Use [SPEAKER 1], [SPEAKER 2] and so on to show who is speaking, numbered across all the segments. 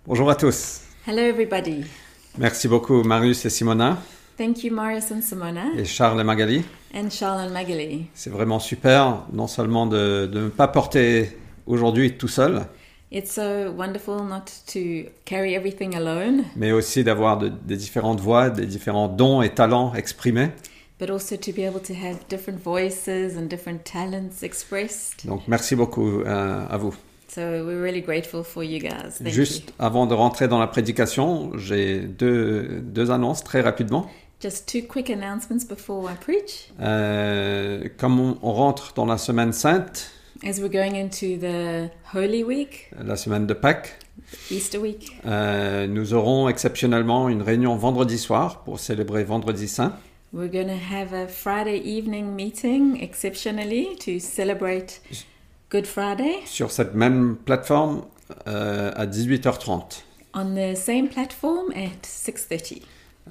[SPEAKER 1] Bonjour à tous.
[SPEAKER 2] Hello, everybody.
[SPEAKER 1] Merci beaucoup Marius et Simona
[SPEAKER 2] Thank you, Marius and Simona,
[SPEAKER 1] et Charles et Magali.
[SPEAKER 2] and Charles and Magali.
[SPEAKER 1] C'est vraiment super, non seulement de ne pas porter aujourd'hui tout seul,
[SPEAKER 2] It's so wonderful not to carry everything alone,
[SPEAKER 1] mais aussi d'avoir des différentes voix, des différents dons et talents exprimés.
[SPEAKER 2] but also to be able to have different voices and different talents expressed.
[SPEAKER 1] Donc merci beaucoup à vous.
[SPEAKER 2] So we're really grateful for you guys. Thank
[SPEAKER 1] Juste
[SPEAKER 2] you.
[SPEAKER 1] avant de rentrer dans la prédication, j'ai deux annonces très rapidement.
[SPEAKER 2] Just two quick announcements before I preach.
[SPEAKER 1] Comme on rentre dans la semaine sainte,
[SPEAKER 2] As we're going into the Holy Week,
[SPEAKER 1] la semaine de Pâques,
[SPEAKER 2] Easter week,
[SPEAKER 1] nous aurons exceptionnellement une réunion vendredi soir pour célébrer Vendredi Saint.
[SPEAKER 2] we're going to have a Friday evening meeting exceptionally to celebrate Good Friday
[SPEAKER 1] Sur cette même plateforme à 18h30.
[SPEAKER 2] on the same platform at 6:30.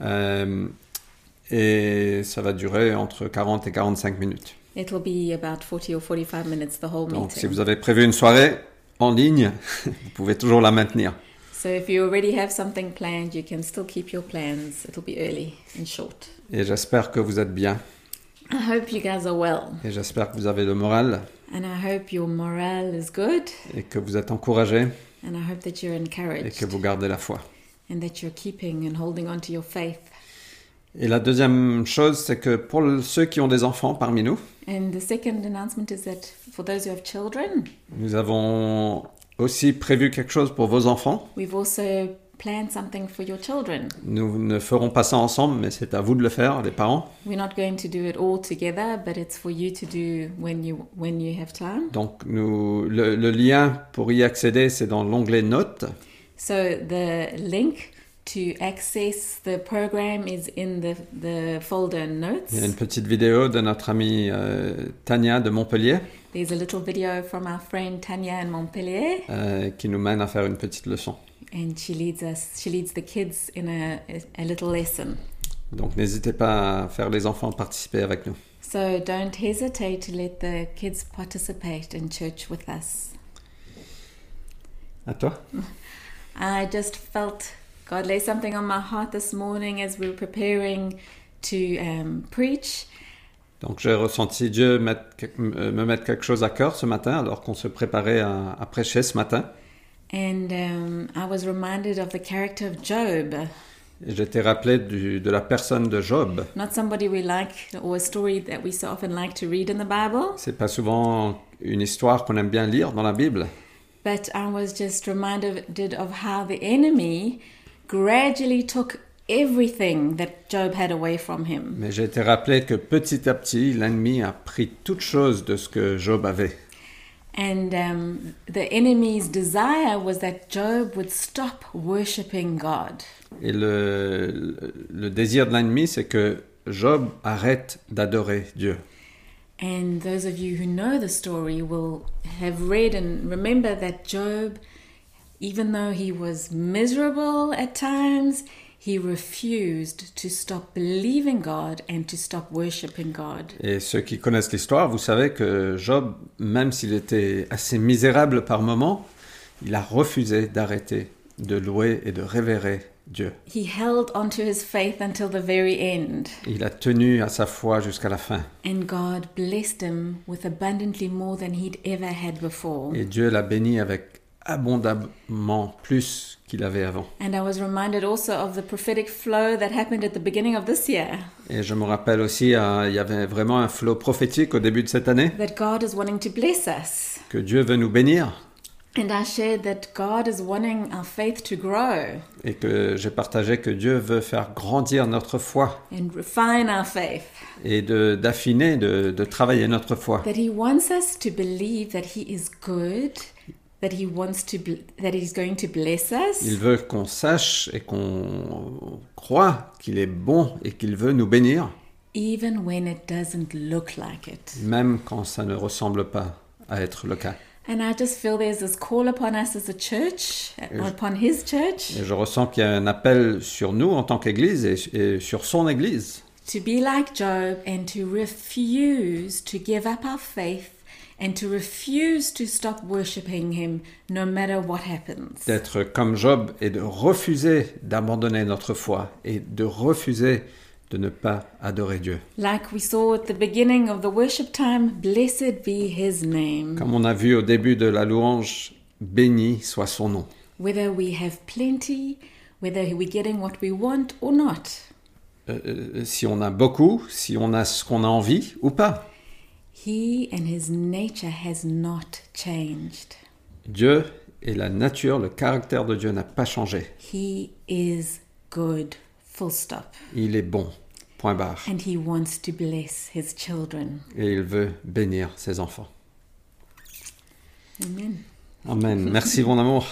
[SPEAKER 1] Et ça va durer entre 40 et 45 minutes.
[SPEAKER 2] It'll be about 40 or 45 minutes, the whole
[SPEAKER 1] Donc si
[SPEAKER 2] meeting.
[SPEAKER 1] vous avez prévu une soirée en ligne, vous pouvez toujours la maintenir.
[SPEAKER 2] So if you already have something planned, you can still keep your plans. It'll be early and short.
[SPEAKER 1] Et j'espère que vous êtes bien.
[SPEAKER 2] I hope you guys are well.
[SPEAKER 1] Et j'espère que vous avez le moral
[SPEAKER 2] And I hope your morale is good.
[SPEAKER 1] et que vous êtes encouragés
[SPEAKER 2] And I hope that you're
[SPEAKER 1] et
[SPEAKER 2] encouraged
[SPEAKER 1] que vous gardez la foi.
[SPEAKER 2] and that you're keeping and holding on to your faith.
[SPEAKER 1] Et la deuxième chose, c'est que pour ceux qui ont des enfants parmi nous,
[SPEAKER 2] And the second announcement is that for those who have children,
[SPEAKER 1] nous avons aussi prévu quelque chose pour vos enfants.
[SPEAKER 2] we've also planned something for your children.
[SPEAKER 1] Nous ne ferons pas ça ensemble, mais c'est à vous de le faire, les parents.
[SPEAKER 2] We're not going to do it all together, but it's for you to do when you have time.
[SPEAKER 1] Donc le lien pour y accéder, c'est dans l'onglet Notes.
[SPEAKER 2] So the link to access the program is in the folder notes.
[SPEAKER 1] Il y a une petite vidéo de notre amie Tania de Montpellier
[SPEAKER 2] There's a little video from our friend Tanya in Montpellier,
[SPEAKER 1] qui nous mène à faire une petite leçon.
[SPEAKER 2] and she leads the kids in a little lesson.
[SPEAKER 1] Donc n'hésitez pas à faire les enfants participer avec nous.
[SPEAKER 2] So don't hesitate to let the kids participate in church with us.
[SPEAKER 1] À toi?
[SPEAKER 2] I just felt God lay something on my heart this morning as we were preparing to preach.
[SPEAKER 1] Donc j'ai ressenti Dieu me mettre quelque chose à cœur ce matin alors qu'on se préparait à prêcher ce matin.
[SPEAKER 2] And I was reminded of the character of Job.
[SPEAKER 1] Et j'étais rappelé de la personne de Job.
[SPEAKER 2] Not somebody we like, or a story that we so often like to read in the Bible,
[SPEAKER 1] C'est pas souvent une histoire qu'on aime bien lire dans la Bible.
[SPEAKER 2] but I was just reminded of how the enemy gradually took everything that Job had away from him.
[SPEAKER 1] Mais j'ai été rappelé que petit à petit, l'ennemi a pris toute chose de ce que Job avait.
[SPEAKER 2] And the enemy's desire was that Job would stop worshipping God.
[SPEAKER 1] Et le désir de l'ennemi, c'est que Job arrête d'adorer Dieu.
[SPEAKER 2] And those of you who know the story will have read and remember that Job, even though he was miserable at times, he refused to stop believing God and to stop worshipping God.
[SPEAKER 1] Et ceux qui connaissent l'histoire, vous savez que Job, même s'il était assez misérable par moments, il a refusé d'arrêter de louer et de révérer Dieu.
[SPEAKER 2] He held onto his faith until the very end,
[SPEAKER 1] Il a tenu à sa foi jusqu'à la fin.
[SPEAKER 2] and God blessed him with abundantly more than he'd ever had before.
[SPEAKER 1] Et Dieu l'a béni avec abondamment plus qu'il avait avant.
[SPEAKER 2] And I was reminded also of the prophetic flow that happened at the beginning of this year,
[SPEAKER 1] Et je me rappelle aussi, il y avait vraiment un flot prophétique au début de cette année,
[SPEAKER 2] that God is wanting to bless us.
[SPEAKER 1] que Dieu veut nous bénir.
[SPEAKER 2] And I shared that God is wanting our faith to grow
[SPEAKER 1] Et que j'ai partagé que Dieu veut faire grandir notre foi
[SPEAKER 2] and refine our faith.
[SPEAKER 1] et d'affiner, de travailler notre foi.
[SPEAKER 2] That He wants us to believe that He is good, that that He's going to bless us,
[SPEAKER 1] Il veut qu'on sache et qu'on croit qu'il est bon et qu'il veut nous bénir,
[SPEAKER 2] even when it doesn't look like it.
[SPEAKER 1] même quand ça ne ressemble pas à être le cas.
[SPEAKER 2] And I just feel there's this call upon us as a church, upon His church,
[SPEAKER 1] Et je ressens qu'il y a un appel sur nous en tant qu'Église et sur son Église,
[SPEAKER 2] to be like Job and to refuse to give up our faith and to refuse to stop worshipping him no matter what happens.
[SPEAKER 1] D'être comme Job et de refuser d'abandonner notre foi et de refuser de ne pas adorer Dieu.
[SPEAKER 2] Like we saw at the beginning of the worship time, blessed be his name.
[SPEAKER 1] Comme on a vu au début de la louange, béni soit son nom.
[SPEAKER 2] Whether we have plenty, whether we're getting what we want or not.
[SPEAKER 1] Si on a beaucoup, si on a ce qu'on a envie ou pas.
[SPEAKER 2] He and his nature has not changed.
[SPEAKER 1] Dieu et la nature, le caractère de Dieu n'a pas changé.
[SPEAKER 2] He is good, full stop.
[SPEAKER 1] Il est bon, point barre.
[SPEAKER 2] And he wants to bless his children.
[SPEAKER 1] Et il veut bénir ses enfants.
[SPEAKER 2] Amen.
[SPEAKER 1] Amen. Merci, mon amour.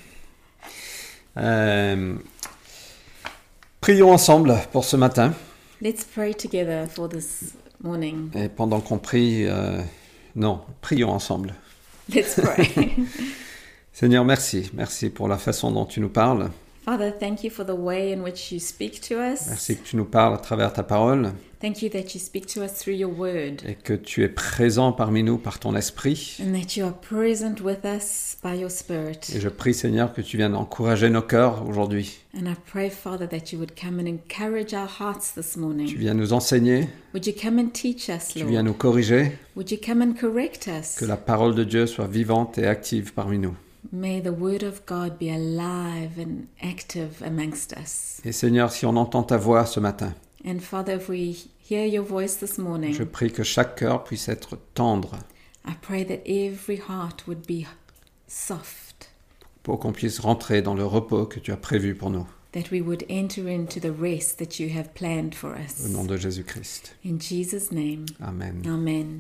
[SPEAKER 1] Prions ensemble pour ce matin.
[SPEAKER 2] Let's pray together for this morning.
[SPEAKER 1] Et pendant qu'on prie, prions ensemble.
[SPEAKER 2] Let's pray.
[SPEAKER 1] Seigneur, merci. Merci pour la façon dont tu nous parles.
[SPEAKER 2] Father, thank you for the way in which you speak to us.
[SPEAKER 1] Merci que tu nous parles à travers ta parole.
[SPEAKER 2] Thank you that you speak to us through your word.
[SPEAKER 1] Et que tu es présent parmi nous par ton esprit.
[SPEAKER 2] And that you are present with us by your spirit.
[SPEAKER 1] Et je prie, Seigneur, que tu viennes encourager nos cœurs aujourd'hui.
[SPEAKER 2] And I pray, Father, that you would come and encourage our hearts this morning.
[SPEAKER 1] Tu viens nous enseigner.
[SPEAKER 2] Would you come and teach us,
[SPEAKER 1] Tu viens
[SPEAKER 2] Lord?
[SPEAKER 1] nous corriger.
[SPEAKER 2] Would you come and correct us?
[SPEAKER 1] Que la parole de Dieu soit vivante et active parmi nous.
[SPEAKER 2] May the word of God be alive and active amongst us.
[SPEAKER 1] Et Seigneur, si on entend ta voix ce matin,
[SPEAKER 2] And Father, if we hear your voice this morning,
[SPEAKER 1] je prie que chaque cœur puisse être tendre
[SPEAKER 2] I pray that every heart would be soft,
[SPEAKER 1] pour qu'on puisse rentrer dans le repos que tu as prévu pour nous.
[SPEAKER 2] that we would enter into the rest that you have planned for us.
[SPEAKER 1] Au nom de Jésus-Christ.
[SPEAKER 2] In Jesus' name,
[SPEAKER 1] Amen.
[SPEAKER 2] amen.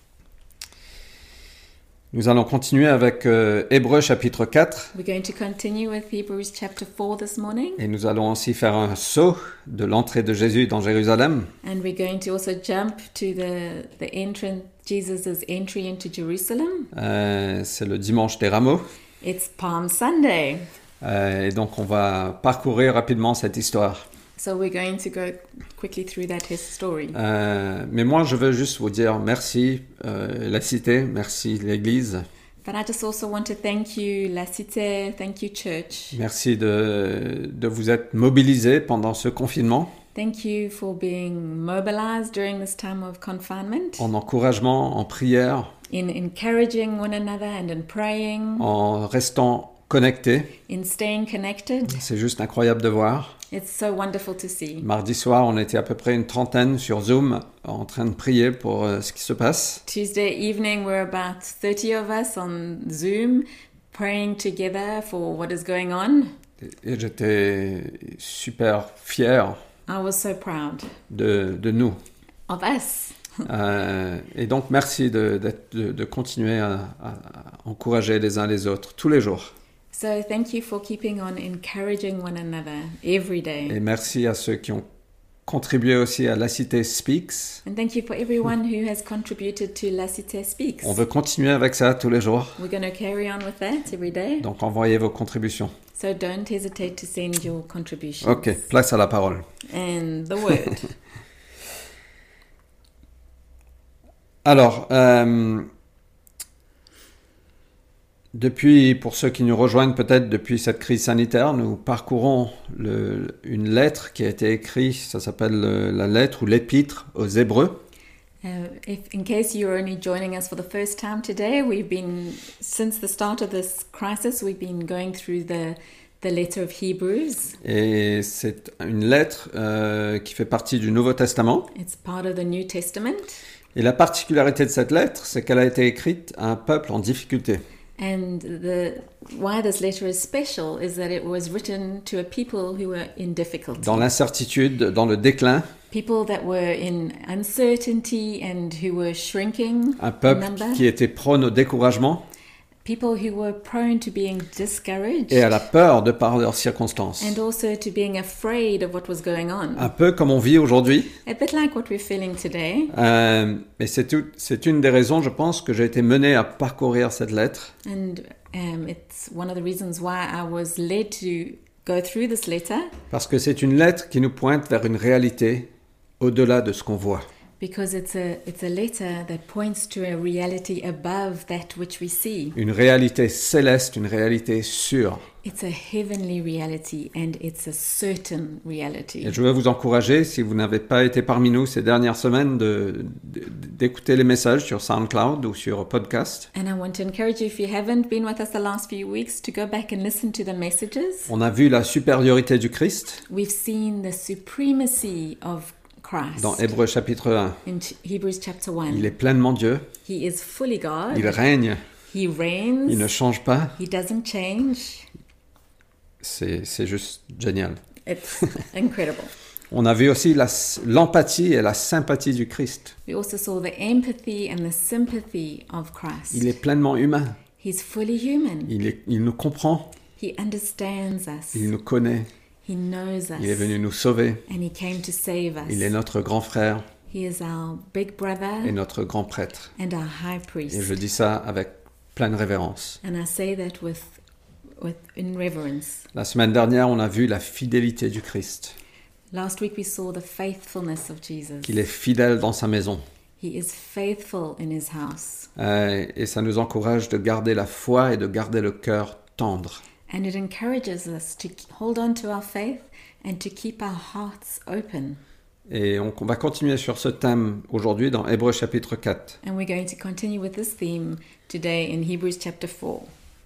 [SPEAKER 1] Nous allons continuer avec Hébreux chapitre 4
[SPEAKER 2] We're going to continue with Hebrews chapter 4 this morning,
[SPEAKER 1] et nous allons aussi faire un saut de l'entrée de Jésus dans Jérusalem.
[SPEAKER 2] and we're going to also jump to the entrance, Jesus' entry into Jerusalem.
[SPEAKER 1] C'est le dimanche des rameaux.
[SPEAKER 2] It's Palm Sunday.
[SPEAKER 1] Et donc on va parcourir rapidement cette histoire.
[SPEAKER 2] So we're going to go quickly through that his story.
[SPEAKER 1] Mais moi je veux juste vous dire merci la cité, merci l'Église.
[SPEAKER 2] But I just also want to thank you, La Cité, thank you, Church.
[SPEAKER 1] Merci de vous être mobilisés pendant ce confinement,
[SPEAKER 2] Thank you for being mobilized during this time of confinement,
[SPEAKER 1] en encouragement, en prière,
[SPEAKER 2] in encouraging one another and in praying,
[SPEAKER 1] en restant connectés.
[SPEAKER 2] in staying connected.
[SPEAKER 1] C'est juste incroyable de voir.
[SPEAKER 2] It's so wonderful to see.
[SPEAKER 1] Mardi soir, on était à peu près une trentaine sur Zoom en train de prier pour ce qui se passe.
[SPEAKER 2] Tuesday evening, we're about 30 of us on Zoom praying together for what is going on.
[SPEAKER 1] Et j'étais super fier
[SPEAKER 2] I was so proud
[SPEAKER 1] de nous.
[SPEAKER 2] of us.
[SPEAKER 1] Et donc, merci de continuer à encourager les uns les autres tous les jours.
[SPEAKER 2] So thank you for keeping on encouraging one another every day.
[SPEAKER 1] Et merci à ceux qui ont contribué aussi à La Cité Speaks.
[SPEAKER 2] And thank you for everyone who has contributed to La Cité Speaks.
[SPEAKER 1] On veut continuer avec ça tous les jours.
[SPEAKER 2] We're going to carry on with that every day.
[SPEAKER 1] Donc, envoyez vos contributions.
[SPEAKER 2] So don't hesitate to send your contributions.
[SPEAKER 1] Ok, place à la parole.
[SPEAKER 2] And the word.
[SPEAKER 1] Alors, pour ceux qui nous rejoignent peut-être depuis cette crise sanitaire, nous parcourons une lettre qui a été écrite, ça s'appelle la lettre ou l'épître aux Hébreux.
[SPEAKER 2] In case you're only joining us for the first time today, since the start of this crisis, we've been going through the letter of Hebrews.
[SPEAKER 1] Et c'est une lettre qui fait partie du Nouveau Testament.
[SPEAKER 2] It's part of the New Testament.
[SPEAKER 1] Et la particularité de cette lettre, c'est qu'elle a été écrite à un peuple en difficulté.
[SPEAKER 2] And why this letter is special is that it was written to a people who were in difficulty.
[SPEAKER 1] Dans l'incertitude, dans le déclin,
[SPEAKER 2] People that were in uncertainty and who were shrinking
[SPEAKER 1] un
[SPEAKER 2] in
[SPEAKER 1] peuple
[SPEAKER 2] number.
[SPEAKER 1] qui était prône au découragement
[SPEAKER 2] People who were prone to being discouraged
[SPEAKER 1] et à la peur de par leurs circonstances.
[SPEAKER 2] and also to being afraid of what was going on.
[SPEAKER 1] Un peu comme on vit aujourd'hui.
[SPEAKER 2] A bit like what we're feeling today.
[SPEAKER 1] Et c'est une des raisons, je pense, que j'ai été mené à parcourir cette lettre.
[SPEAKER 2] And it's one of the reasons why I was led to go through this letter,
[SPEAKER 1] Parce que c'est une lettre qui nous pointe vers une réalité au-delà de ce qu'on voit.
[SPEAKER 2] Because it's a letter that points to a reality above that which we see.
[SPEAKER 1] Une réalité céleste, une réalité sûre.
[SPEAKER 2] It's a heavenly reality and it's a certain reality.
[SPEAKER 1] Et je veux vous encourager, si vous n'avez pas été parmi nous ces dernières semaines, d'écouter les messages sur SoundCloud ou sur podcast.
[SPEAKER 2] And I want to encourage you, if you haven't been with us the last few weeks, to go back and listen to the messages.
[SPEAKER 1] On a vu la supériorité du Christ
[SPEAKER 2] We've seen the supremacy of Christ.
[SPEAKER 1] dans Hébreux chapitre 1.
[SPEAKER 2] In Hebrews chapter 1.
[SPEAKER 1] Il est pleinement Dieu,
[SPEAKER 2] He is fully God.
[SPEAKER 1] il règne,
[SPEAKER 2] He reigns.
[SPEAKER 1] il ne change pas.
[SPEAKER 2] He doesn't change.
[SPEAKER 1] C'est juste génial.
[SPEAKER 2] It's incredible.
[SPEAKER 1] On a vu aussi l'empathie et la sympathie du Christ.
[SPEAKER 2] We also saw the empathy and the sympathy of Christ.
[SPEAKER 1] Il est pleinement humain.
[SPEAKER 2] He's fully human.
[SPEAKER 1] Il nous comprend.
[SPEAKER 2] He understands us.
[SPEAKER 1] Il nous connaît.
[SPEAKER 2] He knows us.
[SPEAKER 1] Il est venu nous sauver.
[SPEAKER 2] And he came to save us.
[SPEAKER 1] Il est notre grand frère
[SPEAKER 2] He is our big brother
[SPEAKER 1] et notre grand prêtre.
[SPEAKER 2] and our high priest.
[SPEAKER 1] Et je dis ça avec pleine révérence.
[SPEAKER 2] And I say that with in reverence.
[SPEAKER 1] La semaine dernière, on a vu la fidélité du Christ.
[SPEAKER 2] Last week we saw the faithfulness of Jesus.
[SPEAKER 1] Qu'il est fidèle dans sa maison.
[SPEAKER 2] He is faithful in his house.
[SPEAKER 1] Et ça nous encourage de garder la foi et de garder le cœur tendre.
[SPEAKER 2] And it encourages us to hold on to our faith and to keep our hearts open.
[SPEAKER 1] Et on va continuer sur ce thème aujourd'hui dans Hébreux chapitre 4.
[SPEAKER 2] And we're going to continue with this theme today in Hebrews chapter 4.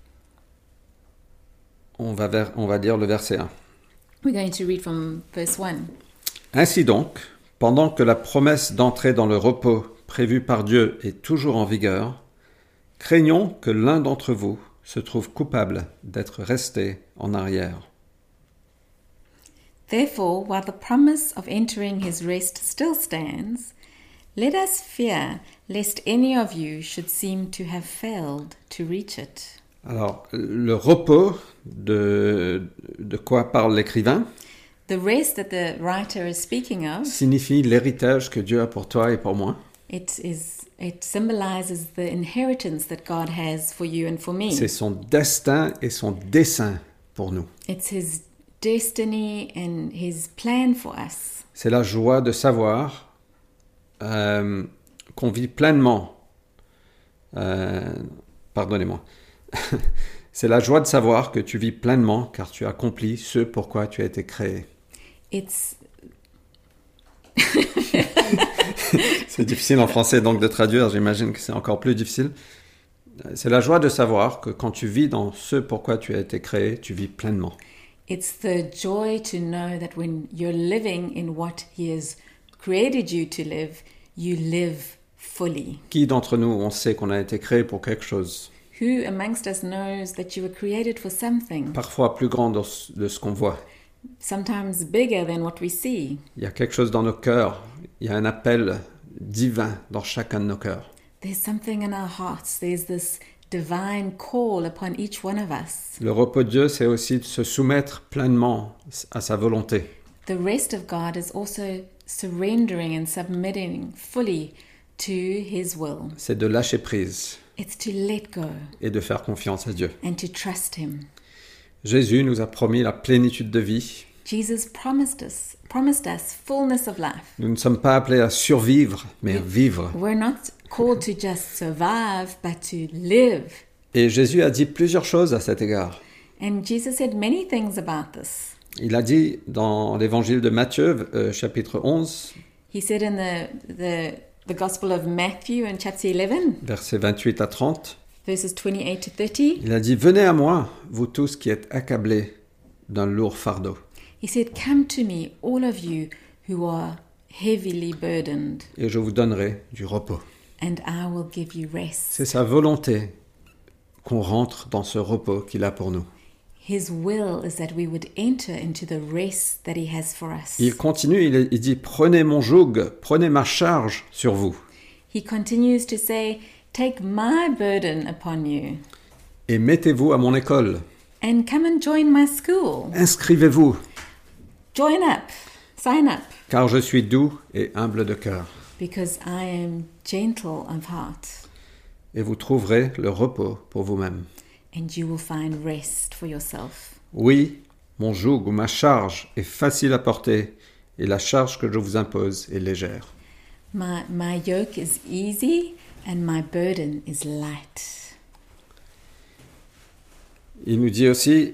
[SPEAKER 1] On va dire le verset 1.
[SPEAKER 2] We're going to read from verse 1.
[SPEAKER 1] Ainsi donc, pendant que la promesse d'entrer dans le repos prévu par Dieu est toujours en vigueur, craignons que l'un d'entre vous se trouve coupable d'être resté en arrière.
[SPEAKER 2] Therefore, while the promise of entering his rest still stands, let us fear lest any of you should seem to have failed to reach it.
[SPEAKER 1] Alors, le repos, de quoi parle l'écrivain,
[SPEAKER 2] The rest that the writer is speaking of,
[SPEAKER 1] signifie l'héritage que Dieu a pour toi et pour moi.
[SPEAKER 2] it symbolizes the inheritance that God has for you and for me.
[SPEAKER 1] C'est son destin et son dessein pour nous.
[SPEAKER 2] It's his destiny and his plan for us.
[SPEAKER 1] C'est la joie de savoir qu'on vit pleinement. Pardonnez-moi. C'est la joie de savoir que tu vis pleinement car tu accomplis ce pourquoi tu as été créé.
[SPEAKER 2] It's
[SPEAKER 1] C'est difficile en français donc de traduire, j'imagine que c'est encore plus difficile. C'est la joie de savoir que quand tu vis dans ce pourquoi tu as été créé, tu vis pleinement.
[SPEAKER 2] It's the joy to know that when you're living in what he has created you to live, you live fully.
[SPEAKER 1] Qui d'entre nous, on sait qu'on a été créé pour quelque chose,
[SPEAKER 2] Who amongst us knows that you were created for something,
[SPEAKER 1] parfois plus grand de ce qu'on voit.
[SPEAKER 2] sometimes bigger than what we see?
[SPEAKER 1] Il y a quelque chose dans nos cœurs, il y a un appel divin dans chacun de nos cœurs.
[SPEAKER 2] There's something in our hearts. There's this divine call upon each one of us.
[SPEAKER 1] Le repos de Dieu, c'est aussi de se soumettre pleinement à sa volonté.
[SPEAKER 2] The rest of God is also surrendering and submitting fully to his will.
[SPEAKER 1] C'est de lâcher prise
[SPEAKER 2] It's to let go
[SPEAKER 1] et de faire confiance à Dieu.
[SPEAKER 2] and to trust him.
[SPEAKER 1] Jésus nous a promis la plénitude de vie.
[SPEAKER 2] Jesus promised us fullness of life.
[SPEAKER 1] Nous ne sommes pas appelés à survivre, mais à vivre.
[SPEAKER 2] We're not called to just survive, but to live.
[SPEAKER 1] Et Jésus a dit plusieurs choses à cet égard.
[SPEAKER 2] And Jesus said many things about this.
[SPEAKER 1] Il a dit dans l'évangile de Matthieu, chapitre 11,
[SPEAKER 2] He said in the Gospel of Matthew in chapter 11,
[SPEAKER 1] versets 28 à 30,
[SPEAKER 2] verses 28 to 30,
[SPEAKER 1] il a dit « Venez à moi, vous tous qui êtes accablés d'un lourd fardeau,
[SPEAKER 2] he said, "Come to me, all of you who are heavily burdened,
[SPEAKER 1] et je vous donnerai du repos.
[SPEAKER 2] and I will give you » rest.
[SPEAKER 1] C'est sa volonté qu'on rentre dans ce repos qu'il a pour nous.
[SPEAKER 2] His will is that we would enter into the rest that he has for us.
[SPEAKER 1] Il continue, il dit « Prenez mon joug, prenez ma charge sur vous,
[SPEAKER 2] He continues to say, "Take my burden upon you,
[SPEAKER 1] et mettez-vous à mon école.
[SPEAKER 2] and come and join my school.
[SPEAKER 1] Inscrivez-vous,
[SPEAKER 2] Join up, sign up,
[SPEAKER 1] car je suis doux et humble de cœur,
[SPEAKER 2] because I am gentle of heart,
[SPEAKER 1] et vous trouverez le repos pour vous-même.
[SPEAKER 2] and you will find rest for yourself.
[SPEAKER 1] Oui, mon joug ou ma charge est facile à porter, et la charge que je vous impose est légère. »
[SPEAKER 2] My yoke is easy and my burden is light.
[SPEAKER 1] Il nous dit aussi,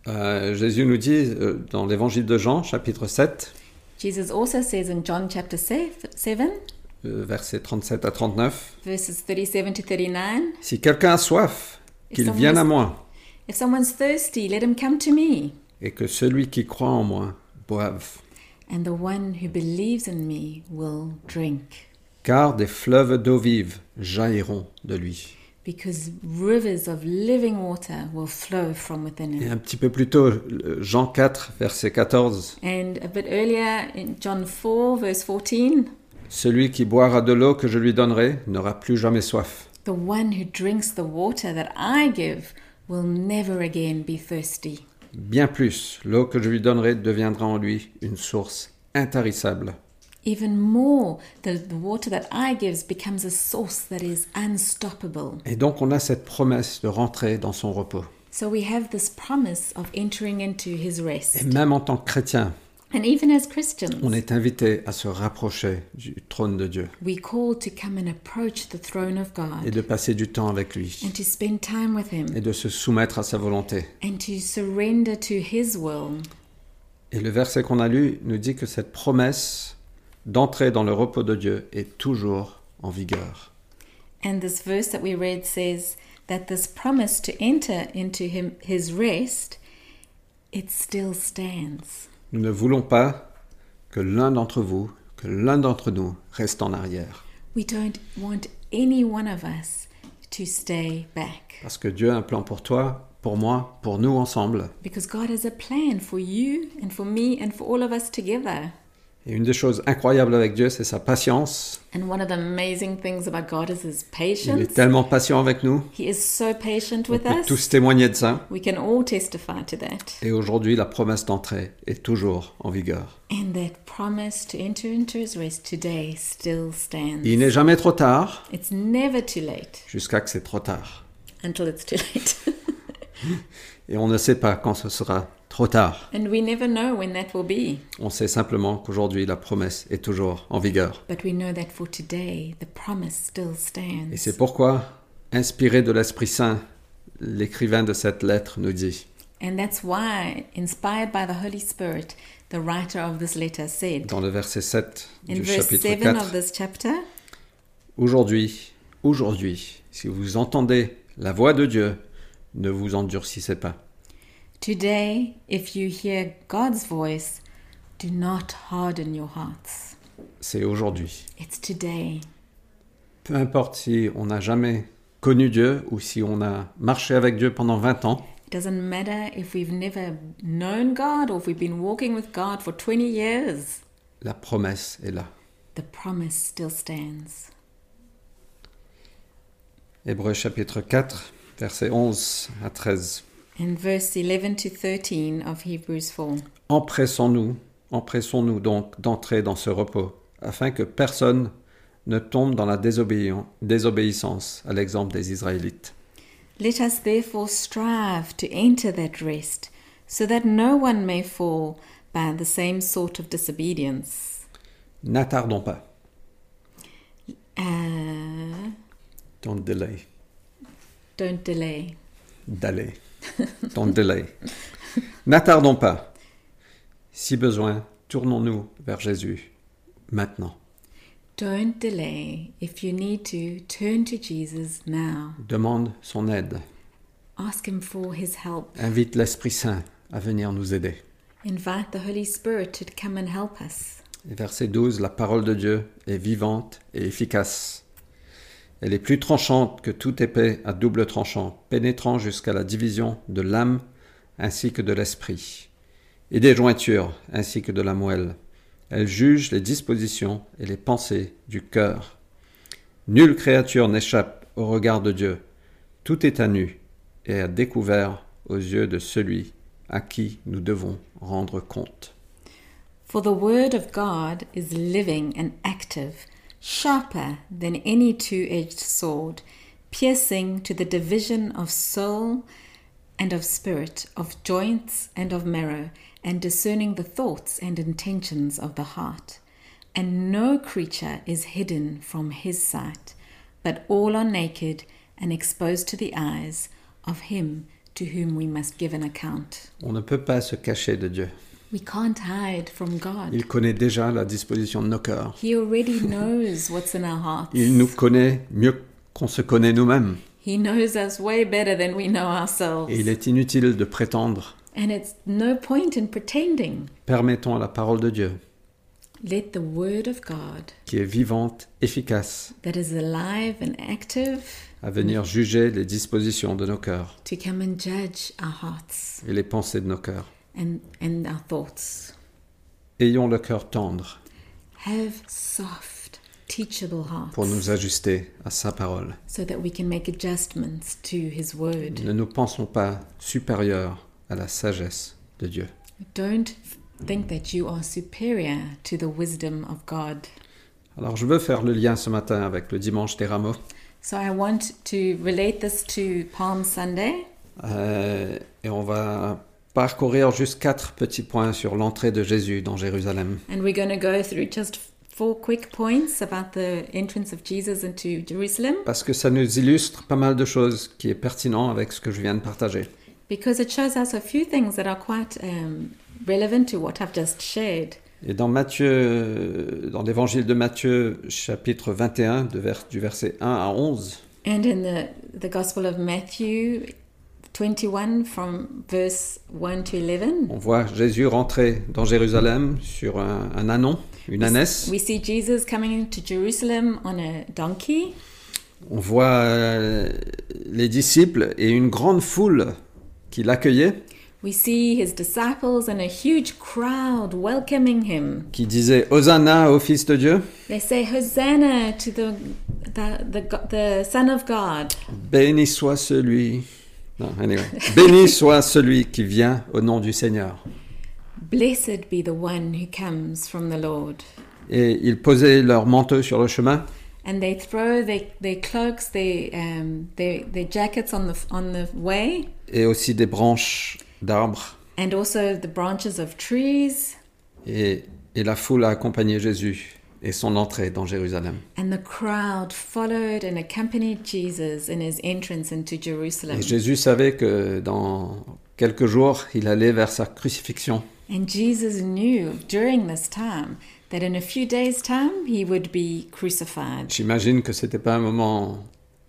[SPEAKER 1] Jésus nous dit dans l'évangile de Jean, chapitre 7,
[SPEAKER 2] Jesus also says in John chapter 7,
[SPEAKER 1] versets 37 à 39,
[SPEAKER 2] verses 37 to 39,
[SPEAKER 1] si quelqu'un a soif, qu'il
[SPEAKER 2] someone
[SPEAKER 1] vienne
[SPEAKER 2] is-
[SPEAKER 1] à moi,
[SPEAKER 2] if someone's thirsty, let him come to me,
[SPEAKER 1] et que celui qui croit en moi boive.
[SPEAKER 2] and the one who believes in me will drink.
[SPEAKER 1] Car des fleuves d'eau vive jailliront de lui.
[SPEAKER 2] Because rivers of living water will flow from within
[SPEAKER 1] Et
[SPEAKER 2] him.
[SPEAKER 1] un petit peu plus tôt, Jean 4, verset 14,
[SPEAKER 2] And a bit earlier in John 4, verse 14,
[SPEAKER 1] celui qui boira de l'eau que je lui donnerai n'aura plus jamais soif.
[SPEAKER 2] the one who drinks the water that I give will never again be thirsty.
[SPEAKER 1] Bien plus, l'eau que je lui donnerai deviendra en lui une source intarissable.
[SPEAKER 2] Even more, the water that I give becomes a source that is unstoppable.
[SPEAKER 1] Et donc on a cette promesse de rentrer dans son repos.
[SPEAKER 2] So we have this promise of entering into his
[SPEAKER 1] Et
[SPEAKER 2] rest.
[SPEAKER 1] même en tant que chrétien,
[SPEAKER 2] And even as Christians,
[SPEAKER 1] on est invité à se rapprocher du trône de Dieu
[SPEAKER 2] we're called to come and approach the throne of
[SPEAKER 1] et
[SPEAKER 2] God
[SPEAKER 1] de passer du temps avec lui
[SPEAKER 2] and to spend time with him
[SPEAKER 1] et de se soumettre à sa volonté.
[SPEAKER 2] and to surrender to his will.
[SPEAKER 1] Et le verset qu'on a lu nous dit que cette promesse d'entrer dans le repos de Dieu est toujours en vigueur.
[SPEAKER 2] And this verse that we read says that this promise to enter into his rest, it still stands.
[SPEAKER 1] Nous ne voulons pas que l'un d'entre vous, que l'un d'entre nous reste en arrière.
[SPEAKER 2] We don't want any one of us to stay back.
[SPEAKER 1] Parce que Dieu a un plan pour toi, pour moi, pour nous ensemble.
[SPEAKER 2] Because God has a plan for you and for me and for all of us together.
[SPEAKER 1] Et une des choses incroyables avec Dieu, c'est sa patience.
[SPEAKER 2] And one of the amazing things about God is his
[SPEAKER 1] Il est
[SPEAKER 2] patience.
[SPEAKER 1] tellement patient avec nous.
[SPEAKER 2] He is so patient
[SPEAKER 1] On
[SPEAKER 2] with
[SPEAKER 1] peut
[SPEAKER 2] us.
[SPEAKER 1] tous témoigner de ça.
[SPEAKER 2] We can all testify to that.
[SPEAKER 1] Et aujourd'hui, la promesse d'entrée est toujours en vigueur.
[SPEAKER 2] And that promise to enter into his rest today still stands.
[SPEAKER 1] Il n'est jamais trop tard,
[SPEAKER 2] It's never too late
[SPEAKER 1] jusqu'à que c'est trop tard.
[SPEAKER 2] until it's too late.
[SPEAKER 1] Et on ne sait pas quand ce sera trop tard.
[SPEAKER 2] And we never know when that will be.
[SPEAKER 1] On sait simplement qu'aujourd'hui, la promesse est toujours en vigueur.
[SPEAKER 2] But we know that for today, the promise still
[SPEAKER 1] Et
[SPEAKER 2] stands.
[SPEAKER 1] c'est pourquoi, inspiré de l'Esprit Saint, l'écrivain de cette lettre nous dit
[SPEAKER 2] And that's why, inspired by the Holy Spirit, the writer of this letter said,
[SPEAKER 1] dans le verset 7
[SPEAKER 2] in
[SPEAKER 1] du
[SPEAKER 2] verse
[SPEAKER 1] chapitre
[SPEAKER 2] 7
[SPEAKER 1] 4,
[SPEAKER 2] of this chapter,
[SPEAKER 1] Aujourd'hui, si vous entendez la voix de Dieu, ne vous endurcissez pas.
[SPEAKER 2] today, if you hear God's voice, do not harden your hearts.
[SPEAKER 1] C'est aujourd'hui.
[SPEAKER 2] It's today.
[SPEAKER 1] Peu importe si on n'a jamais connu Dieu ou si on a marché avec Dieu pendant 20 ans,
[SPEAKER 2] It doesn't matter if we've never known God or if we've been walking with God for 20 years.
[SPEAKER 1] la promesse est là.
[SPEAKER 2] The promise still stands.
[SPEAKER 1] Hébreux chapitre 4, versets 11 à 13.
[SPEAKER 2] In verse 11 to 13 of Hebrews 4.
[SPEAKER 1] Empressons-nous donc d'entrer dans ce repos, afin que personne ne tombe dans la désobéissance, à l'exemple des Israélites.
[SPEAKER 2] Let us therefore strive to enter that rest, so that no one may fall by the same sort of disobedience.
[SPEAKER 1] N'attardons pas.
[SPEAKER 2] Don't
[SPEAKER 1] Don't delay.
[SPEAKER 2] delay.
[SPEAKER 1] D'aller. Don't delay. N'attardons pas. Si besoin, tournons-nous vers Jésus maintenant.
[SPEAKER 2] Don't delay. If you need to, turn to Jesus now.
[SPEAKER 1] Demande son aide.
[SPEAKER 2] Ask him for his help.
[SPEAKER 1] Invite l'Esprit Saint à venir nous aider.
[SPEAKER 2] Invite the Holy Spirit to come and help us.
[SPEAKER 1] Et verset 12, la parole de Dieu est vivante et efficace. Elle est plus tranchante que toute épée à double tranchant, pénétrant jusqu'à la division de l'âme ainsi que de l'esprit, et des jointures ainsi que de la moelle. Elle juge les dispositions et les pensées du cœur. Nulle créature n'échappe au regard de Dieu. Tout est à nu et à découvert aux yeux de celui à qui nous devons rendre compte.
[SPEAKER 2] For the word of God is living and active, sharper than any two-edged sword, piercing to the division of soul and of spirit, of joints and of marrow, and discerning the thoughts and intentions of the heart. And no creature is hidden from his sight, but all are naked and exposed to the eyes of him to whom we must give an account.
[SPEAKER 1] On ne peut pas se cacher de Dieu.
[SPEAKER 2] We can't hide from God.
[SPEAKER 1] Il connaît déjà la disposition de nos cœurs.
[SPEAKER 2] He already knows what's in our hearts.
[SPEAKER 1] Il nous connaît mieux qu'on se connaît nous-mêmes.
[SPEAKER 2] He knows us way better than we know ourselves.
[SPEAKER 1] Et il est inutile de prétendre.
[SPEAKER 2] And it's no point in pretending.
[SPEAKER 1] Permettons à la parole de Dieu,
[SPEAKER 2] Let the word of God,
[SPEAKER 1] qui est vivante, efficace,
[SPEAKER 2] that is alive and active,
[SPEAKER 1] à venir juger les dispositions de nos cœurs
[SPEAKER 2] to come and judge our hearts
[SPEAKER 1] et les pensées de nos cœurs.
[SPEAKER 2] and our thoughts.
[SPEAKER 1] Ayons le cœur tendre
[SPEAKER 2] Have soft, teachable hearts
[SPEAKER 1] pour nous ajuster à sa parole.
[SPEAKER 2] so that we can make adjustments to his word.
[SPEAKER 1] Ne nous pensons pas supérieurs à la sagesse de Dieu.
[SPEAKER 2] Don't think that you are superior to the wisdom of God.
[SPEAKER 1] Alors je veux faire le lien ce matin avec le dimanche des Rameaux.
[SPEAKER 2] So I want to relate this to Palm Sunday.
[SPEAKER 1] Et on va parcourir juste 4 petits points sur l'entrée de Jésus dans Jérusalem.
[SPEAKER 2] And we're going to go through just 4 quick points about the entrance of Jesus into Jerusalem,
[SPEAKER 1] Parce que ça nous illustre pas mal de choses qui est pertinent avec ce que je viens de partager.
[SPEAKER 2] because it shows us a few things that are quite relevant to what I've just shared.
[SPEAKER 1] Et dans Matthieu, dans l'évangile de Matthieu, chapitre 21, du verset 1 à 11,
[SPEAKER 2] And in the Gospel of Matthew 21 from verse 1 to 11,
[SPEAKER 1] on voit Jésus rentrer dans Jérusalem sur un ânon, une ânesse.
[SPEAKER 2] we see Jesus coming to Jerusalem on a donkey.
[SPEAKER 1] On voit les disciples et une grande foule qui l'accueillait,
[SPEAKER 2] We see his disciples and a huge crowd welcoming him.
[SPEAKER 1] qui disait « Hosanna au Fils de Dieu ».
[SPEAKER 2] They say, Hosanna to the Son of God.
[SPEAKER 1] Béni soit celui... Non, anyway. Béni soit celui qui vient au nom du Seigneur.
[SPEAKER 2] Blessed be the one who comes from the Lord.
[SPEAKER 1] Et ils posaient leurs manteaux sur le chemin.
[SPEAKER 2] And they throw their cloaks, their jackets on the way,
[SPEAKER 1] Et aussi des branches d'arbres.
[SPEAKER 2] and also the branches of trees.
[SPEAKER 1] Et la foule a accompagné Jésus et son entrée dans Jérusalem.
[SPEAKER 2] And the crowd followed and accompanied Jesus in his entrance into Jerusalem.
[SPEAKER 1] Et Jésus savait que dans quelques jours, il allait vers sa crucifixion.
[SPEAKER 2] And Jesus knew during this time that in a few days' time he would be crucified.
[SPEAKER 1] J'imagine que c'était pas un moment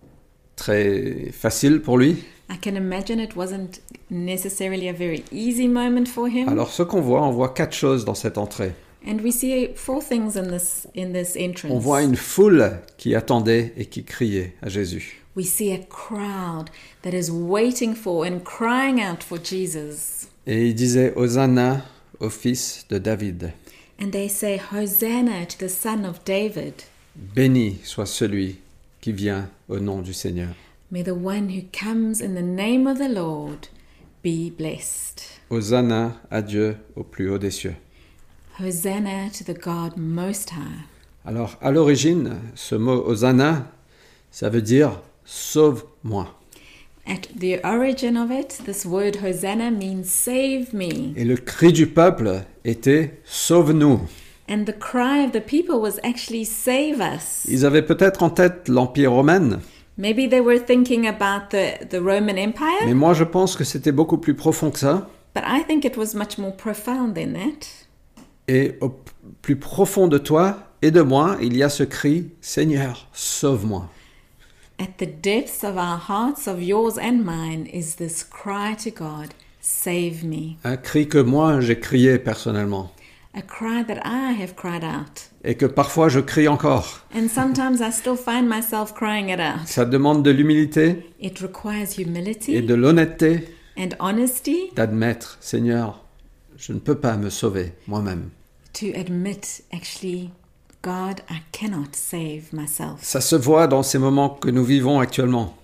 [SPEAKER 1] très facile pour lui.
[SPEAKER 2] I can imagine it wasn't necessarily a very easy moment for him.
[SPEAKER 1] Alors ce qu'on voit, on voit 4 choses dans cette entrée.
[SPEAKER 2] And we see 4 things in this entrance.
[SPEAKER 1] On voit une foule qui attendait et qui criait à Jésus.
[SPEAKER 2] We see a crowd that is waiting for and crying out for Jesus.
[SPEAKER 1] Et il disait Hosanna au fils de David.
[SPEAKER 2] And they say, Hosanna to the Son of David.
[SPEAKER 1] Béni soit celui qui vient au nom du Seigneur.
[SPEAKER 2] May the one who comes in the name of the Lord be blessed.
[SPEAKER 1] Hosanna à Dieu au plus haut des cieux.
[SPEAKER 2] Hosanna to the God Most High.
[SPEAKER 1] Alors, à l'origine, ce mot Hosanna, ça veut dire sauve-moi.
[SPEAKER 2] At the origin of it, this word Hosanna means save me.
[SPEAKER 1] Et le cri du peuple était sauve-nous.
[SPEAKER 2] And the cry of the people was actually save us.
[SPEAKER 1] Ils avaient peut-être en tête l'Empire romain,
[SPEAKER 2] Maybe they were thinking about the Roman Empire,
[SPEAKER 1] mais moi je pense que c'était beaucoup plus profond que ça.
[SPEAKER 2] but I think it was much more profound than that.
[SPEAKER 1] Et au plus profond de toi et de moi, il y a ce cri « Seigneur, sauve-moi ».
[SPEAKER 2] At the depths of our hearts, of yours and mine, is this cry to God, save me.
[SPEAKER 1] Un cri que moi j'ai crié personnellement
[SPEAKER 2] A cry that I have cried out.
[SPEAKER 1] et que parfois je crie encore.
[SPEAKER 2] And sometimes I still find myself crying it out.
[SPEAKER 1] Ça demande de l'humilité
[SPEAKER 2] It requires
[SPEAKER 1] et
[SPEAKER 2] humility
[SPEAKER 1] de l'honnêteté
[SPEAKER 2] and honesty
[SPEAKER 1] d'admettre « Seigneur, je ne peux pas me sauver moi-même ».
[SPEAKER 2] to admit, actually, God, I cannot save myself.
[SPEAKER 1] Ça se voit dans ces moments que nous vivons actuellement.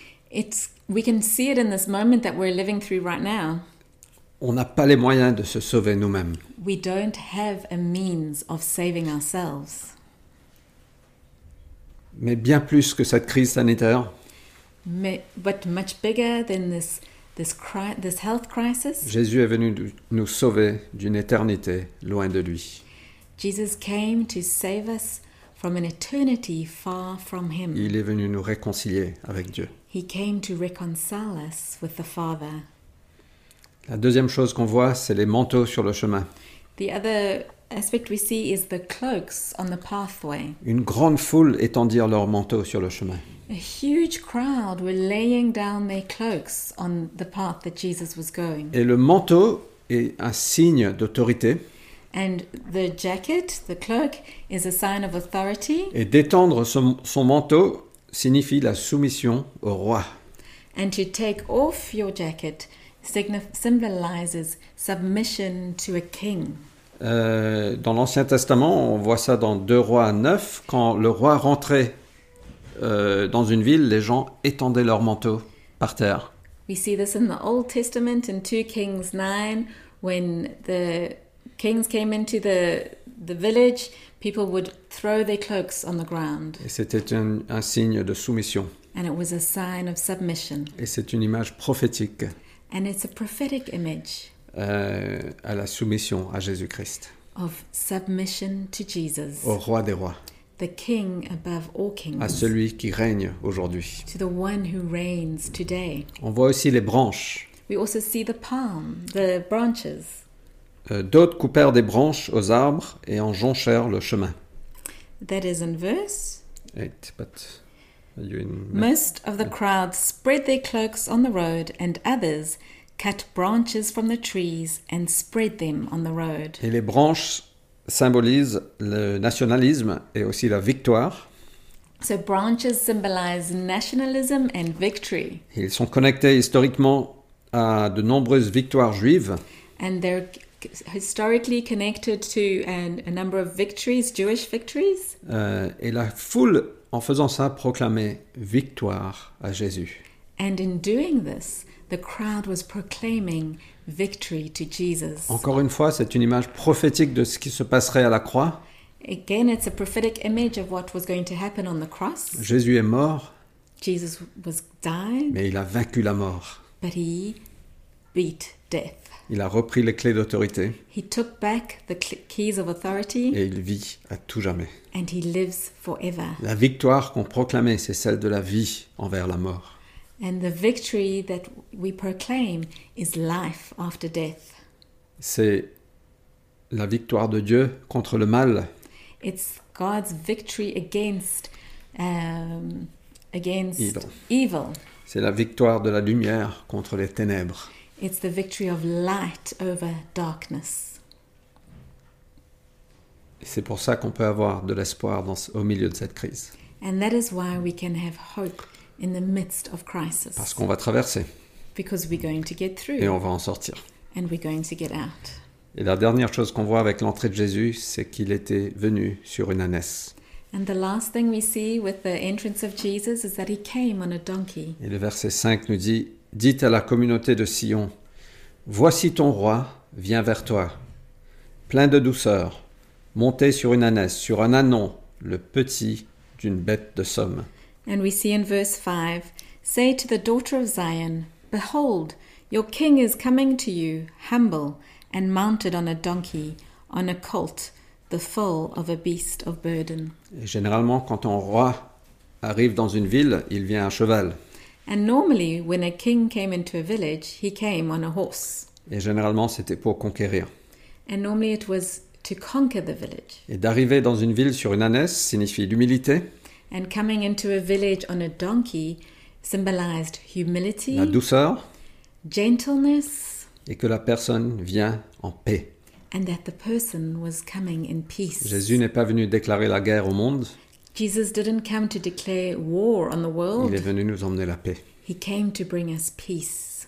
[SPEAKER 2] We can see it in this moment that we're living through right now.
[SPEAKER 1] On n'a pas les moyens de se sauver nous-mêmes.
[SPEAKER 2] We don't have a means of saving ourselves.
[SPEAKER 1] Mais bien plus que cette crise sanitaire,
[SPEAKER 2] But much bigger than this health crisis,
[SPEAKER 1] Jésus est venu nous sauver d'une éternité loin de lui.
[SPEAKER 2] Jesus came to save us from an eternity far from him.
[SPEAKER 1] Il est venu nous réconcilier avec Dieu.
[SPEAKER 2] He came to reconcile us with the Father.
[SPEAKER 1] La deuxième chose qu'on voit, c'est les manteaux sur le chemin.
[SPEAKER 2] The other aspect we see is the cloaks on the pathway.
[SPEAKER 1] Une grande foule étendirent leurs manteaux sur le chemin.
[SPEAKER 2] A huge crowd were laying down their cloaks on the path that Jesus was going.
[SPEAKER 1] Et le manteau est un signe d'autorité.
[SPEAKER 2] And the jacket, the cloak, is a sign of authority.
[SPEAKER 1] Et d'étendre son manteau signifie la soumission au roi.
[SPEAKER 2] And to take off your jacket symbolizes submission to a king.
[SPEAKER 1] Dans l'Ancien Testament, on voit ça dans 2 Rois 9, quand le roi rentrait dans une ville, les gens étendaient leur manteau par terre.
[SPEAKER 2] We see this in the Old Testament in 2 Kings 9, when the kings came into the village, people would throw their cloaks on the ground.
[SPEAKER 1] Et c'était un signe de soumission.
[SPEAKER 2] And it was a sign of submission.
[SPEAKER 1] Et c'est une image prophétique
[SPEAKER 2] And it's a prophetic image
[SPEAKER 1] à la soumission à Jésus-Christ,
[SPEAKER 2] of submission to Jesus,
[SPEAKER 1] au roi des rois,
[SPEAKER 2] the king above all kings,
[SPEAKER 1] à celui qui règne aujourd'hui.
[SPEAKER 2] to the one who reigns today.
[SPEAKER 1] On voit aussi les branches.
[SPEAKER 2] We also see the palm, the branches.
[SPEAKER 1] D'autres coupèrent des branches aux arbres et en jonchèrent le chemin.
[SPEAKER 2] That is in verse.
[SPEAKER 1] 8, but are you in...
[SPEAKER 2] Most of the crowd spread their cloaks on the road, and others cut branches from the trees and spread them on the road.
[SPEAKER 1] Et les branches symbolisent le nationalisme et aussi la victoire.
[SPEAKER 2] So branches symbolize nationalism and victory.
[SPEAKER 1] Ils sont connectés historiquement à de nombreuses victoires juives.
[SPEAKER 2] And they're historically connected to a number of victories, Jewish victories.
[SPEAKER 1] Et la foule, en faisant ça, proclamait victoire à Jésus.
[SPEAKER 2] And in doing this, the crowd was proclaiming victory to Jesus.
[SPEAKER 1] Encore une fois, c'est une image prophétique de ce qui se passerait à la croix.
[SPEAKER 2] Again, it's a prophetic image of what was going to happen on the cross.
[SPEAKER 1] Jésus est mort,
[SPEAKER 2] Jesus was died,
[SPEAKER 1] mais il a vaincu la mort.
[SPEAKER 2] but he beat death.
[SPEAKER 1] Il a repris les clés d'autorité
[SPEAKER 2] He took back the keys of authority,
[SPEAKER 1] et il vit à tout jamais.
[SPEAKER 2] and he lives forever.
[SPEAKER 1] La victoire qu'on proclamait, c'est celle de la vie envers la mort.
[SPEAKER 2] And the victory that we proclaim is life after death.
[SPEAKER 1] C'est la victoire de Dieu contre le mal.
[SPEAKER 2] It's God's victory against evil.
[SPEAKER 1] C'est la victoire de la lumière contre les ténèbres.
[SPEAKER 2] It's the victory of light over darkness.
[SPEAKER 1] Et c'est pour ça qu'on peut avoir de l'espoir au milieu de cette crise.
[SPEAKER 2] And that is why we can have hope in the midst of crisis.
[SPEAKER 1] Parce qu'on va traverser
[SPEAKER 2] Because we're going to get through
[SPEAKER 1] et on va en sortir.
[SPEAKER 2] and we're going to get out.
[SPEAKER 1] Et la dernière chose qu'on voit avec l'entrée de Jésus, c'est qu'il était venu sur une ânesse.
[SPEAKER 2] And the last thing we see with the entrance of Jesus is that he came on a donkey.
[SPEAKER 1] Et le verset 5 nous dit « Dites à la communauté de Sion, voici ton roi vient vers toi, plein de douceur, monté sur une ânesse, sur un ânon, le petit d'une bête de somme. »
[SPEAKER 2] And we see in verse 5, say to the daughter of Zion, behold, your king is coming to you, humble and mounted on a donkey, on a colt, the foal of a beast of burden.
[SPEAKER 1] Et généralement, quand un roi arrive dans une ville, il vient à cheval.
[SPEAKER 2] And normally, when a king came into a village, he came on a horse.
[SPEAKER 1] Et généralement, c'était pour conquérir.
[SPEAKER 2] And normally it was to conquer the village.
[SPEAKER 1] Et d'arriver dans une ville sur une ânesse signifie l'humilité,
[SPEAKER 2] And coming into a village on a donkey symbolized humility,
[SPEAKER 1] la douceur,
[SPEAKER 2] gentleness,
[SPEAKER 1] et que la personne vient en paix.
[SPEAKER 2] and that the person was coming in peace.
[SPEAKER 1] Jésus n'est pas venu déclarer la guerre au monde,
[SPEAKER 2] Jesus didn't come to declare war on the
[SPEAKER 1] il
[SPEAKER 2] world.
[SPEAKER 1] est venu nous emmener la paix.
[SPEAKER 2] He came to bring us peace.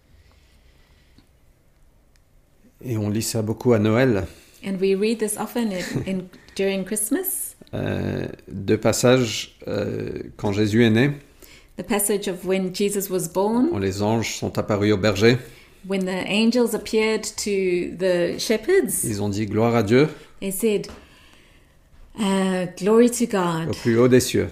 [SPEAKER 1] Et on lit ça beaucoup à Noël.
[SPEAKER 2] And we read this often during Christmas.
[SPEAKER 1] Deux passages quand Jésus est né,
[SPEAKER 2] The passage of when Jesus was born,
[SPEAKER 1] où les anges sont apparus aux bergers.
[SPEAKER 2] when the angels appeared to the shepherds,
[SPEAKER 1] Ils ont dit gloire à Dieu
[SPEAKER 2] they said, glory to
[SPEAKER 1] au
[SPEAKER 2] God
[SPEAKER 1] plus haut des cieux,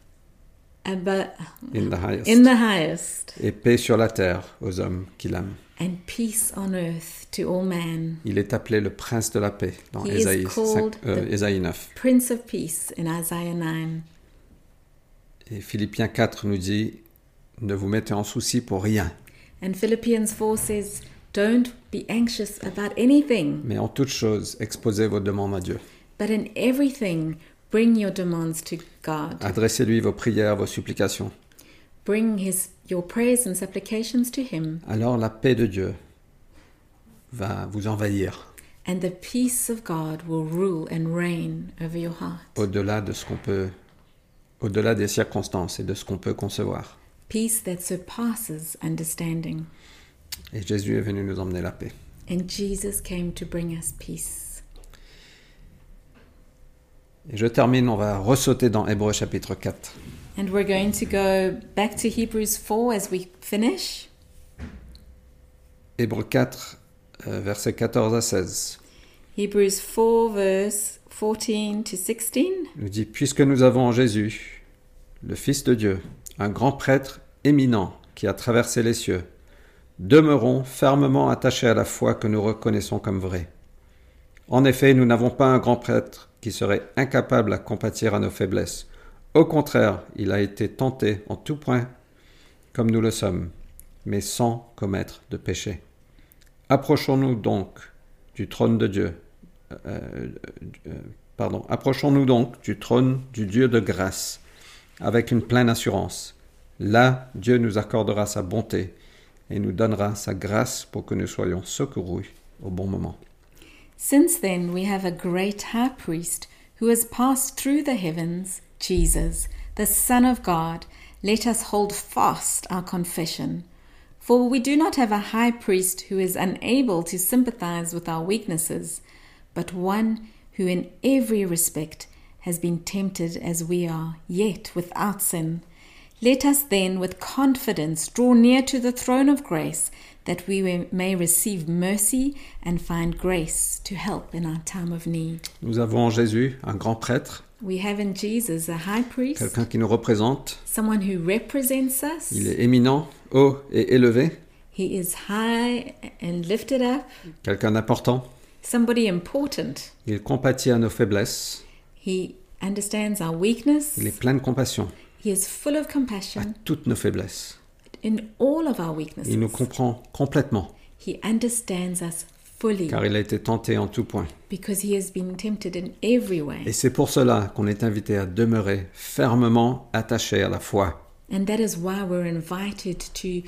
[SPEAKER 2] in
[SPEAKER 1] in the highest,
[SPEAKER 2] the highest,
[SPEAKER 1] et paix sur la terre aux hommes qui l'aiment.
[SPEAKER 2] and peace on earth to all men.
[SPEAKER 1] Il est appelé le prince de la paix dans
[SPEAKER 2] He is
[SPEAKER 1] Ésaïe
[SPEAKER 2] called
[SPEAKER 1] Ésaïe 9.
[SPEAKER 2] Prince of Peace in Isaiah 9.
[SPEAKER 1] Et Philippiens 4 nous dit, ne vous mettez en souci pour rien,
[SPEAKER 2] And Philippians 4 says, don't be anxious about anything,
[SPEAKER 1] mais en toute chose, exposez vos demandes à Dieu.
[SPEAKER 2] but in everything, bring your demands to God.
[SPEAKER 1] Adressez-lui vos prières, vos supplications.
[SPEAKER 2] Bring your prayers and supplications to Him,
[SPEAKER 1] Alors la paix de Dieu va vous envahir
[SPEAKER 2] and the peace of God will rule and reign over your heart.
[SPEAKER 1] au-delà de ce qu'on peut, au-delà des circonstances et de ce qu'on peut concevoir.
[SPEAKER 2] Peace that surpasses understanding.
[SPEAKER 1] Et Jésus est venu nous emmener la paix.
[SPEAKER 2] And Jesus came to bring us peace.
[SPEAKER 1] Et je termine, on va ressauter dans Hébreux chapitre 4.
[SPEAKER 2] And we're going to go back to Hebrews 4 as we finish.
[SPEAKER 1] Hébreux 4, versets 14 à 16.
[SPEAKER 2] Hebrews 4 verse 14 to 16.
[SPEAKER 1] Il nous dit, puisque nous avons en Jésus, le Fils de Dieu, un grand prêtre éminent qui a traversé les cieux, demeurons fermement attachés à la foi que nous reconnaissons comme vraie. En effet, nous n'avons pas un grand prêtre qui serait incapable à compatir à nos faiblesses. Au contraire, il a été tenté en tout point comme nous le sommes, mais sans commettre de péché. Approchons-nous donc du trône de Dieu. Approchons-nous donc du trône du Dieu de grâce, avec une pleine assurance. Là, Dieu nous accordera sa bonté et nous donnera sa grâce pour que nous soyons secourus au bon moment.
[SPEAKER 2] Since then we have a great high priest who has passed through the heavens, Jesus, the Son of God. Let us hold fast our confession. For we do not have a high priest who is unable to sympathize with our weaknesses, but one who in every respect has been tempted as we are, yet without sin. Let us then with confidence draw near to the throne of grace, that we may receive mercy and find grace to help in our time of need.
[SPEAKER 1] Nous avons en Jésus un grand prêtre,
[SPEAKER 2] We have in Jesus a high priest,
[SPEAKER 1] quelqu'un qui nous représente.
[SPEAKER 2] someone who represents us.
[SPEAKER 1] Il est éminent, haut et élevé,
[SPEAKER 2] He is high and lifted up,
[SPEAKER 1] quelqu'un d'important.
[SPEAKER 2] somebody important.
[SPEAKER 1] Il compatit à nos faiblesses.
[SPEAKER 2] He understands our weakness.
[SPEAKER 1] Il est plein de compassion
[SPEAKER 2] He is full of
[SPEAKER 1] à
[SPEAKER 2] compassion
[SPEAKER 1] toutes nos faiblesses.
[SPEAKER 2] in all of our weaknesses.
[SPEAKER 1] Il nous comprend complètement,
[SPEAKER 2] He understands us fully
[SPEAKER 1] car il a été tenté en tout point.
[SPEAKER 2] because he has been tempted in every way.
[SPEAKER 1] Et c'est pour cela qu'on est invité à demeurer fermement attaché à la foi.
[SPEAKER 2] And that is why we're invited to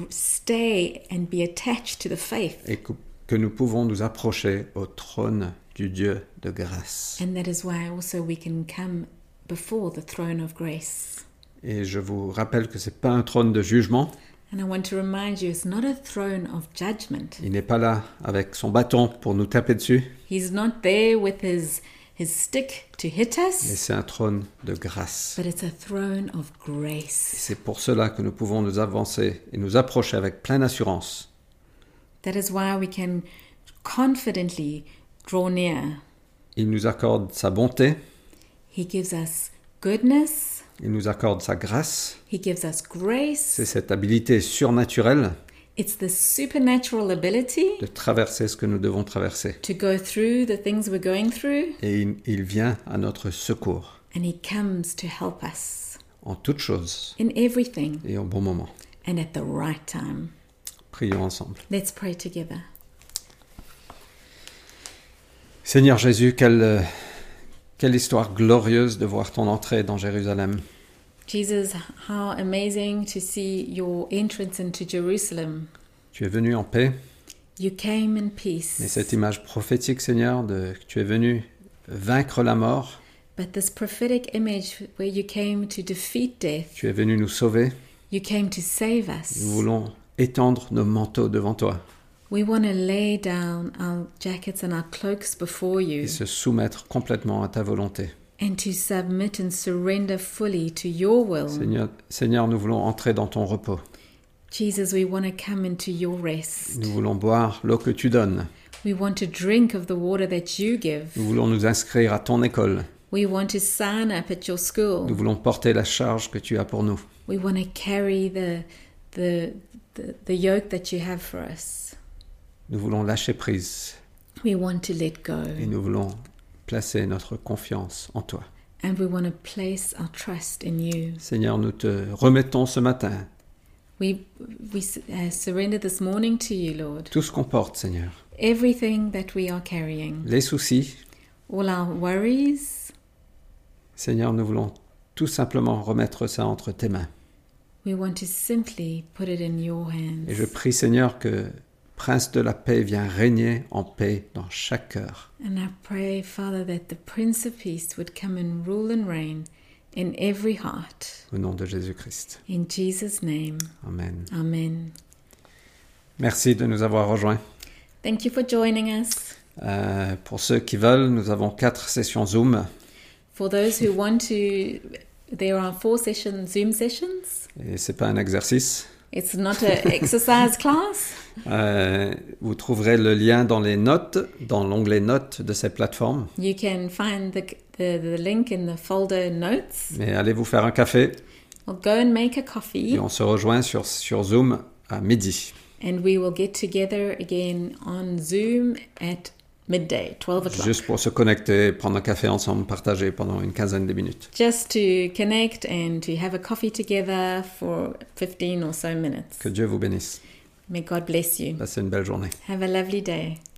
[SPEAKER 2] stay and be attached to the faith.
[SPEAKER 1] Et que nous pouvons nous approcher au trône du Dieu de grâce.
[SPEAKER 2] And that is why also we can come before the throne of grace.
[SPEAKER 1] Et je vous rappelle que ce n'est pas un trône de jugement.
[SPEAKER 2] And I want to remind you, it's not a throne of judgment.
[SPEAKER 1] Il n'est pas là avec son bâton pour nous taper dessus.
[SPEAKER 2] He's not there with his stick to hit
[SPEAKER 1] Mais
[SPEAKER 2] us,
[SPEAKER 1] c'est un trône de grâce.
[SPEAKER 2] but it's a throne of
[SPEAKER 1] Et
[SPEAKER 2] grace.
[SPEAKER 1] c'est pour cela que nous pouvons nous avancer et nous approcher avec pleine assurance.
[SPEAKER 2] That is why we can confidently draw near.
[SPEAKER 1] Il nous accorde sa bonté,
[SPEAKER 2] He gives us goodness.
[SPEAKER 1] il nous accorde sa grâce.
[SPEAKER 2] He gives us grace.
[SPEAKER 1] C'est cette habilité surnaturelle
[SPEAKER 2] It's the supernatural ability
[SPEAKER 1] de traverser ce que nous devons traverser.
[SPEAKER 2] to go through the things we're going through,
[SPEAKER 1] Et il vient à notre secours
[SPEAKER 2] and He comes to help us
[SPEAKER 1] en toutes choses
[SPEAKER 2] in everything
[SPEAKER 1] et au bon moment.
[SPEAKER 2] and at the right time.
[SPEAKER 1] Prions ensemble.
[SPEAKER 2] Let's pray together.
[SPEAKER 1] Seigneur Jésus, quelle histoire glorieuse de voir ton entrée dans Jérusalem.
[SPEAKER 2] Jesus, how amazing to see your entrance into Jerusalem.
[SPEAKER 1] Tu es venu en paix,
[SPEAKER 2] You came in peace.
[SPEAKER 1] mais cette image prophétique, Seigneur, que tu es venu vaincre la mort,
[SPEAKER 2] But this prophetic image where you came to defeat death,
[SPEAKER 1] tu es venu nous sauver.
[SPEAKER 2] you came to save us.
[SPEAKER 1] Nous voulons étendre nos manteaux devant toi
[SPEAKER 2] We want to lay down our jackets and our cloaks before you
[SPEAKER 1] et se soumettre complètement à ta volonté.
[SPEAKER 2] and to submit and surrender fully to your will.
[SPEAKER 1] Seigneur, nous voulons entrer dans ton repos.
[SPEAKER 2] Jesus, we want to come into your rest.
[SPEAKER 1] Nous voulons boire l'eau que tu donnes.
[SPEAKER 2] We want to drink of the water that you give.
[SPEAKER 1] Nous voulons nous inscrire à ton école.
[SPEAKER 2] We want to sign up at your
[SPEAKER 1] Nous
[SPEAKER 2] school.
[SPEAKER 1] voulons porter la charge que tu as pour nous.
[SPEAKER 2] We want to carry the the yoke that you have for us.
[SPEAKER 1] Nous voulons lâcher prise
[SPEAKER 2] We want to let go.
[SPEAKER 1] et nous voulons placer notre confiance en toi.
[SPEAKER 2] And we want to place our trust in you.
[SPEAKER 1] Seigneur, nous te remettons ce matin
[SPEAKER 2] We surrender this morning to you, Lord.
[SPEAKER 1] tout ce qu'on porte, Seigneur.
[SPEAKER 2] Everything that we are carrying,
[SPEAKER 1] Les soucis,
[SPEAKER 2] all our worries,
[SPEAKER 1] Seigneur, nous voulons tout simplement remettre ça entre tes mains.
[SPEAKER 2] we want to simply put it in your
[SPEAKER 1] Et je
[SPEAKER 2] hands.
[SPEAKER 1] prie, Seigneur, que Prince de la paix vienne régner en paix dans chaque cœur.
[SPEAKER 2] And I pray, Father, that the Prince of Peace would come and rule and reign in every heart.
[SPEAKER 1] Au nom de Jésus-Christ.
[SPEAKER 2] In Jesus' name,
[SPEAKER 1] Amen.
[SPEAKER 2] Amen.
[SPEAKER 1] Merci de nous avoir rejoints.
[SPEAKER 2] Thank you for joining us.
[SPEAKER 1] Pour ceux qui veulent, nous avons 4 sessions Zoom.
[SPEAKER 2] For those who want to, there are 4 Zoom sessions.
[SPEAKER 1] Et c'est pas un exercice.
[SPEAKER 2] It's not an exercise class.
[SPEAKER 1] Vous trouverez le lien dans les notes, dans l'onglet notes de ces plateformes.
[SPEAKER 2] You can find the link in the folder notes.
[SPEAKER 1] Mais allez vous faire un café
[SPEAKER 2] Or go and make a
[SPEAKER 1] et
[SPEAKER 2] coffee,
[SPEAKER 1] on se rejoint sur Zoom à midi.
[SPEAKER 2] and we will get together again on Zoom at midday, 12 o'clock.
[SPEAKER 1] Juste pour se connecter, prendre un café ensemble, partager pendant une quinzaine de minutes.
[SPEAKER 2] Just to connect and to have a coffee together for 15 or so minutes.
[SPEAKER 1] Que Dieu vous bénisse.
[SPEAKER 2] May God bless you.
[SPEAKER 1] Passez une belle journée.
[SPEAKER 2] Have a lovely day.